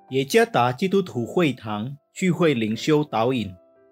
耶加达基督徒会堂聚会灵修导引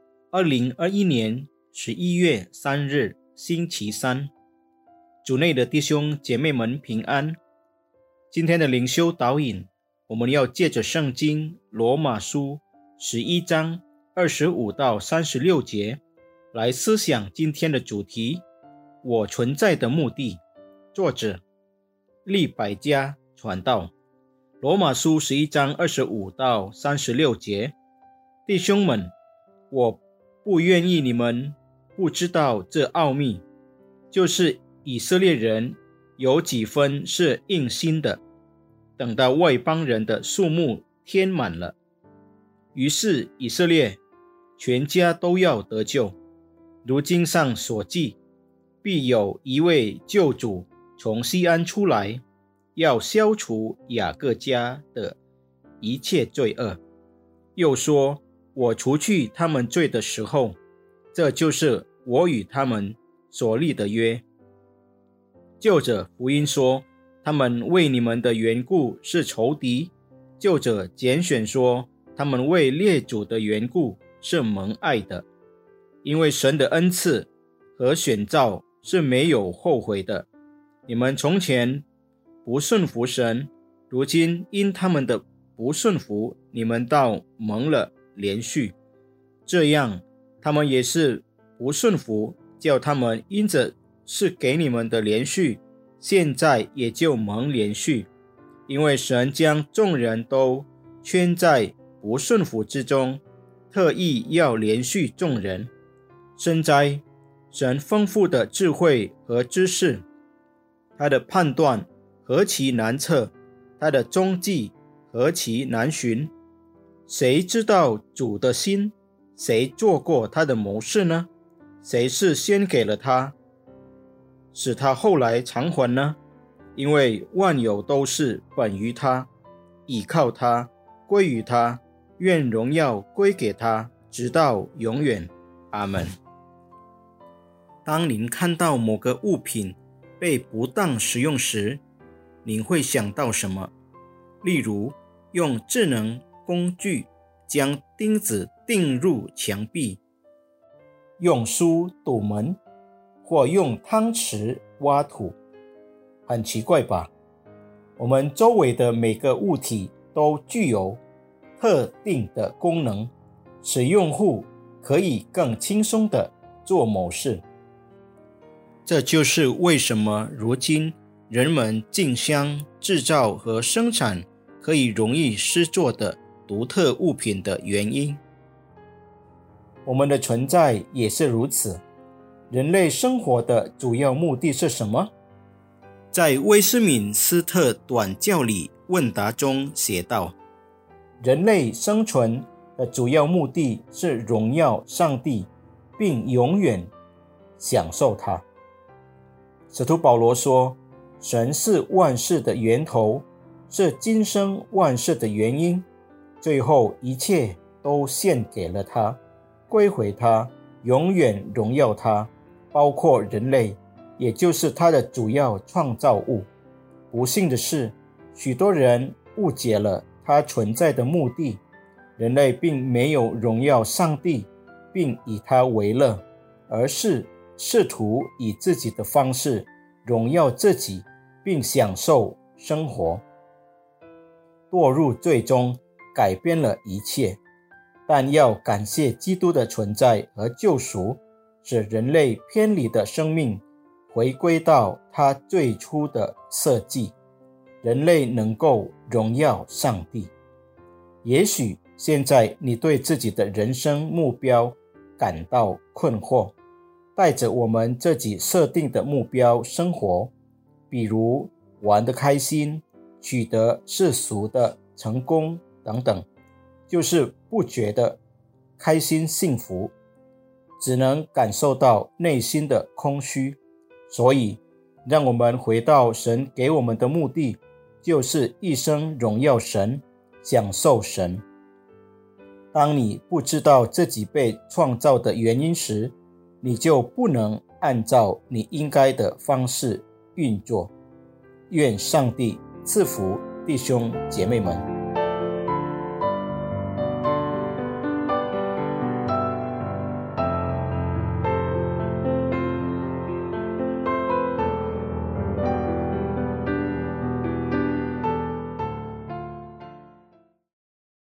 ，2021年11月3日星期三。主内的弟兄姐妹们平安。今天的灵修导引，我们要借着圣经罗马书11章25到36节来思想今天的主题，我存在的目的。作者利百加传道。罗马书11章25到36节，弟兄们，我不愿意你们不知道这奥秘，就是以色列人有几分是硬心的，等到外邦人的数目填满了，于是以色列全家都要得救。如经上所记，必有一位救主从西安出来，要消除雅各家的一切罪恶。又说，我除去他们罪的时候，这就是我与他们所立的约。就着福音说，他们为你们的缘故是仇敌；就着拣选说，他们为列祖的缘故是蒙爱的。因为神的恩赐和选召是没有后悔的。你们从前不顺服神，如今因他们的不顺服，你们倒蒙了连续。这样，他们也是不顺服，叫他们因着是给你们的连续，现在也就蒙连续。因为神将众人都圈在不顺服之中，特意要连续众人。深哉，神丰富的智慧和知识，他的判断何其难测，他的踪迹何其难寻。谁知道主的心？谁做过他的谋士呢？谁是先给了他，使他后来偿还呢？因为万有都是本于他，倚靠他，归于他，愿荣耀归给他，直到永远。阿们。当您看到某个物品被不当使用时，您会想到什么？例如，用智能工具将钉子钉入墙壁，用书堵门，或用汤匙挖土。很奇怪吧？我们周围的每个物体都具有特定的功能，使用户可以更轻松地做某事。这就是为什么如今人们竞相制造和生产可以容易施作的独特物品的原因。我们的存在也是如此。人类生活的主要目的是什么？在威斯敏斯特短教理问答中写道，人类生存的主要目的是荣耀上帝，并永远享受它。使徒保罗说，神是万事的源头，是今生万事的原因，最后一切都献给了他，归回他，永远荣耀他，包括人类，也就是他的主要创造物。不幸的是，许多人误解了他存在的目的。人类并没有荣耀上帝并以他为乐，而是试图以自己的方式荣耀自己并享受生活。堕入最终改变了一切，但要感谢基督的存在和救赎，使人类偏离的生命回归到他最初的设计，人类能够荣耀上帝。也许现在你对自己的人生目标感到困惑，带着我们自己设定的目标生活，比如玩得开心，取得世俗的成功等等，就是不觉得开心幸福，只能感受到内心的空虚。所以让我们回到神给我们的目的，就是一生荣耀神，享受神。当你不知道自己被创造的原因时，你就不能按照你应该的方式运作。愿上帝赐福弟兄姐妹们。